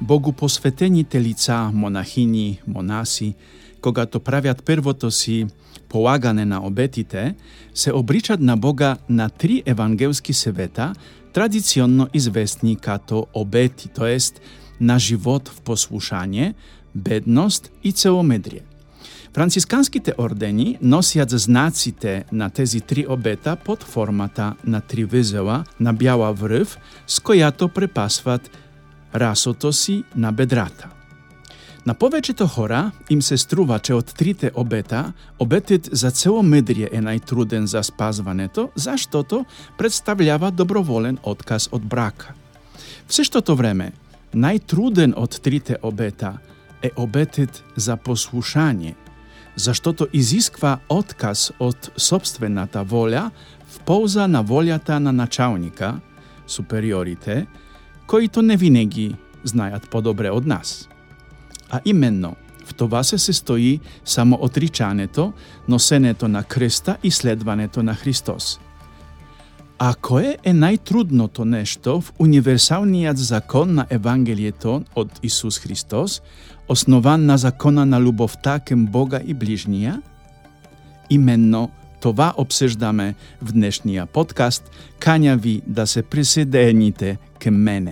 Богу посветените лица, монахини, монаси, когато правят първото си полагане на обетите, се обричат на Бога на 3 евангелски съвета, традиционно известни като обети, т.е. на живот в послушание, бедност и целомедрие. Францисканските ордени носят знаците на тези 3 обета под формата на 3 възела на бяла връв, с която препасват расото си на бедрата. На повечето хора им се струва, че от 3 обета, обетът за целомедрие е най-труден за спазването, защото представлява доброволен отказ от брака. В същото време, най-труден от 3 обета е обетът за послушание, защото изисква отказ от собствената воля в полза на волята на началника, супериорите, които не винаги знаят по-добре от нас. А именно, в това се състои само отричането, носенето на кръста и следването на Христос. А кое е най-трудното нещо в универсалният закон на Евангелието от Исус Христос, основан на закона на любовта към Бога и ближния? Именно това обсъждаме в днешния подкаст. Каня ви да се присъедините към мене.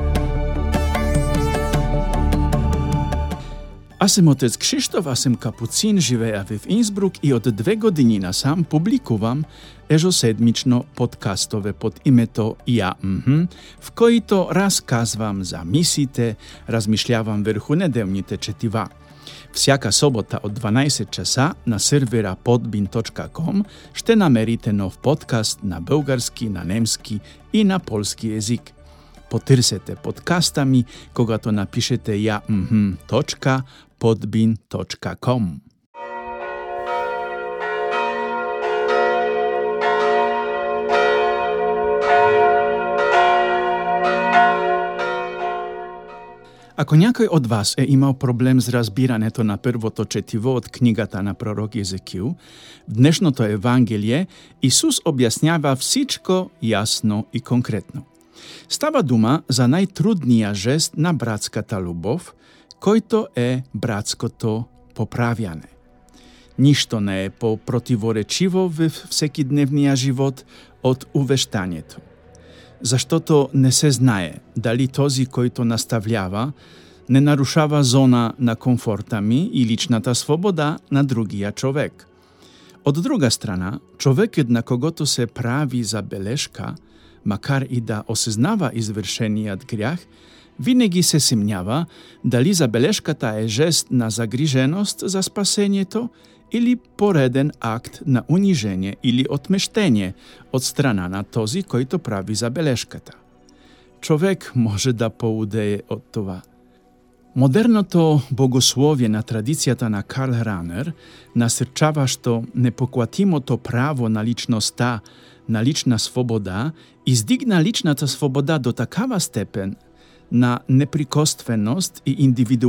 Аз съм отец Кшиштоф, аз съм капуцин, живея в Инсбрук и от 2 години насам публикувам ежеседмично подкастове под името Я, в които разказвам за мисиите, размишлявам върху неделните четива. Всяка събота от 12 часа на сервера podbean.com ще намерите нов подкаст на български, на немски и на полски език. Потърсете подкаста ми, когато напишете ja.podbean.com. Ако някой от вас е имал проблем с разбирането на първото четиво от книгата на пророк Езекил, в днешното Евангелие Исус обяснява всичко ясно и конкретно. Става дума за най-трудния жест на братската любов, който е братското поправяне. Нищо не е по-противоречиво в всекидневния живот от увещанието. Защото не се знае дали този, който наставлява, не нарушава зона на комфорта ми и личната свобода на другия човек. От друга страна, човекът, на когото се прави забележка, макар и да осъзнава извършеният грях, винаги се съмнява дали забележката е жест на загриженост за спасението или пореден акт на унижение или отмъщение от страна на този, който прави забележката. Човек може да поудее от това. Модерното богословие на традицията на Карл Ранер, насърчаващо непоклатимото право на личността, на лична свобода, издигна личната свобода до такава степен на неприкосновеност и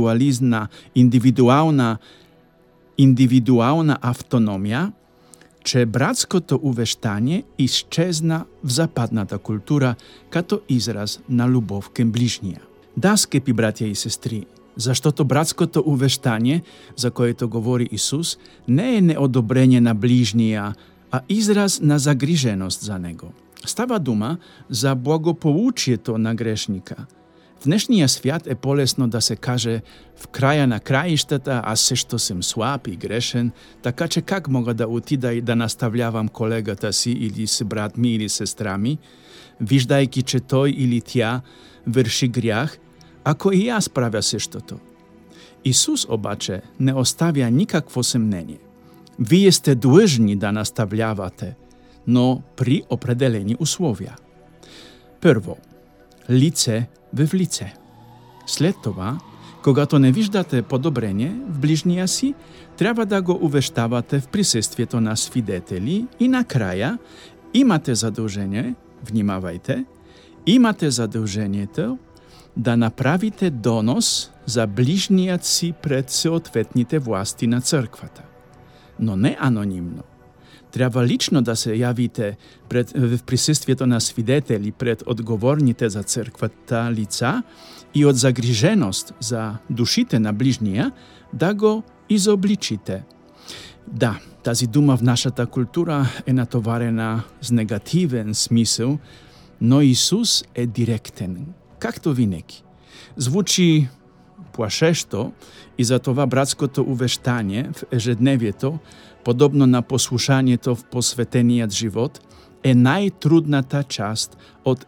индивидуална автономия, че братското увещание изчезна в западната култура като израз на любов към ближния. Да, скъпи братя и сестри, защото братското увещание, за което говори Исус, не е неодобрение на ближния, а израз на загриженост за него. Става дума за благополучието на грешника. В днешния свят е по-лесно да се каже в края на краищата аз също съм слаб и грешен, така че как мога да отида и да наставлявам колегата си или си брат ми или сестра ми, виждайки, че той или тя върши грях, ако и аз правя същото. Исус обаче не оставя никакво съмнение. Вие сте длъжни да наставлявате, но при определени условия. Първо, лице в лице. След това, когато не виждате подобрение в ближния си, трябва да го увещавате в присъствието на свидетели и накрая имате задължение, внимавайте, имате задължението да направите донос за ближният си пред съответните власти на църквата. Но не анонимно. Трябва лично да се явите в присъствието на свидетели пред отговорните за църквата лица и от загриженост за душите на ближния да го изобличите. Да, тази дума в нашата култура е натоварена с негативен смисъл, но Исус е директен, както винаги. Звучи плашещо и затова братското увещание в ежедневието, подобно на послушанието в посветеният живот, е най-трудната част от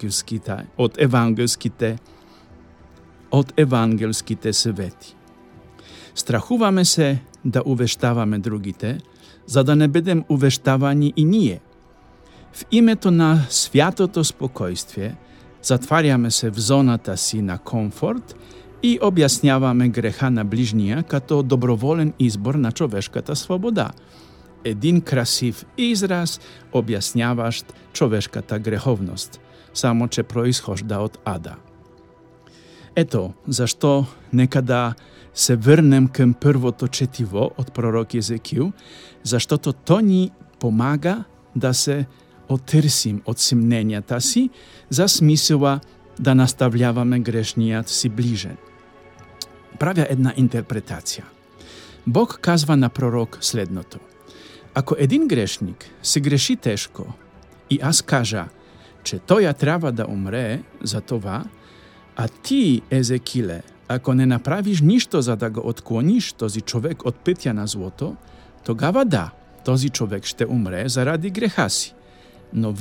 евангелските съвети. Страхуваме се да увещаваме другите, за да не бъдем увещавани и ние. В името на святото спокойствие затваряме се в зоната си на комфорт и обясняваме греха на ближния като доброволен избор на човешката свобода. Един красив израз, обясняващ човешката греховност, само че произхожда от ада. Ето защо нека да се върнем към първото четиво от пророк Езекил, защото то ни помага да се отърсим от съмненията си за смисъла да наставляваме грешният си ближен. Правя една интерпретация. Бог казва на пророк следното. Ако един грешник се греши тежко и аз кажа, че той трябва да умре за това, а ти, Езекиле, ако не направиш нищо, за да го отклониш този човек от пътя на злото, тогава да, този човек ще умре заради греха си. Но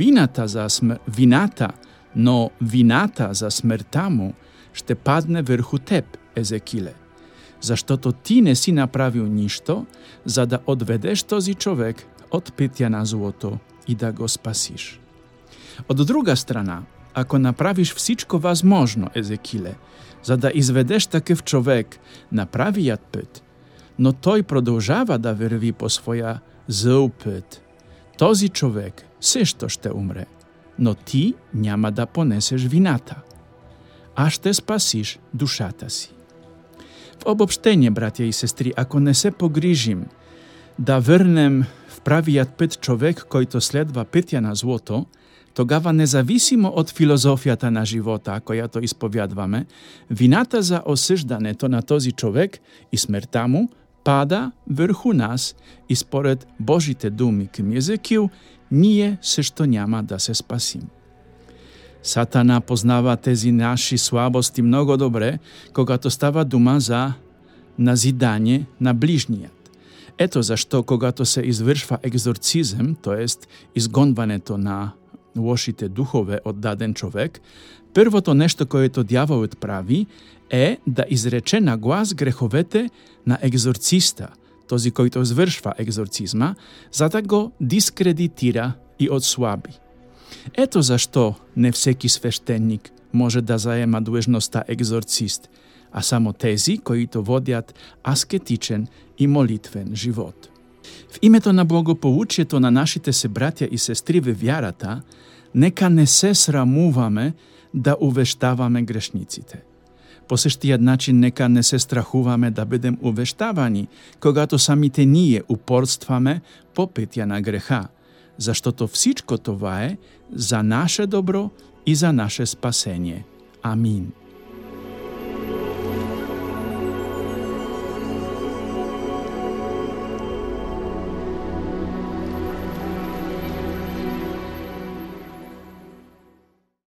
вината за смъртта му ще падне върху теб, Езекиле, защото ти не си направил нищо, за да отведеш този човек от пътя на злото и да го спасиш. От друга страна, ако направиш всичко възможно, Езекиле, за да изведеш такъв човек на правият път, но той продължава да върви по своя зъл път, този човек също ще умре, но ти няма да понесеш вината, а ще спасиш душата си. В обобщение, братя и сестри, ако не се погрижим да върнем в правият път човек, който следва пътя на злото, тогава независимо от филозофията на живота, която изповядваме, вината за осъждането на този човек и смъртта му пада върху нас и според Божите думи към Езекил, ние също няма да се спасим. Сатана познава тези наши слабости много добре, когато става дума за назидание на ближният. Ето защо, когато се извършва екзорцизъм, т.е. изгонването на лошите духове от даден човек, първото нещо, което дяволът прави, е да изрече на глас греховете на екзорциста, този, който извършва екзорцизма, за да го дискредитира и отслаби. Ето защо не всеки свещеник може да заема длъжността екзорцист, а само тези, които водят аскетичен и молитвен живот. В името на благополучието на нашите събратя и сестри във вярата, нека не се срамуваме да увещаваме грешниците. По същия начин нека не се страхуваме да бъдем увещавани, когато самите ние упорстваме по пътя на греха, защото всичко това е за наше добро и за наше спасение. Амин.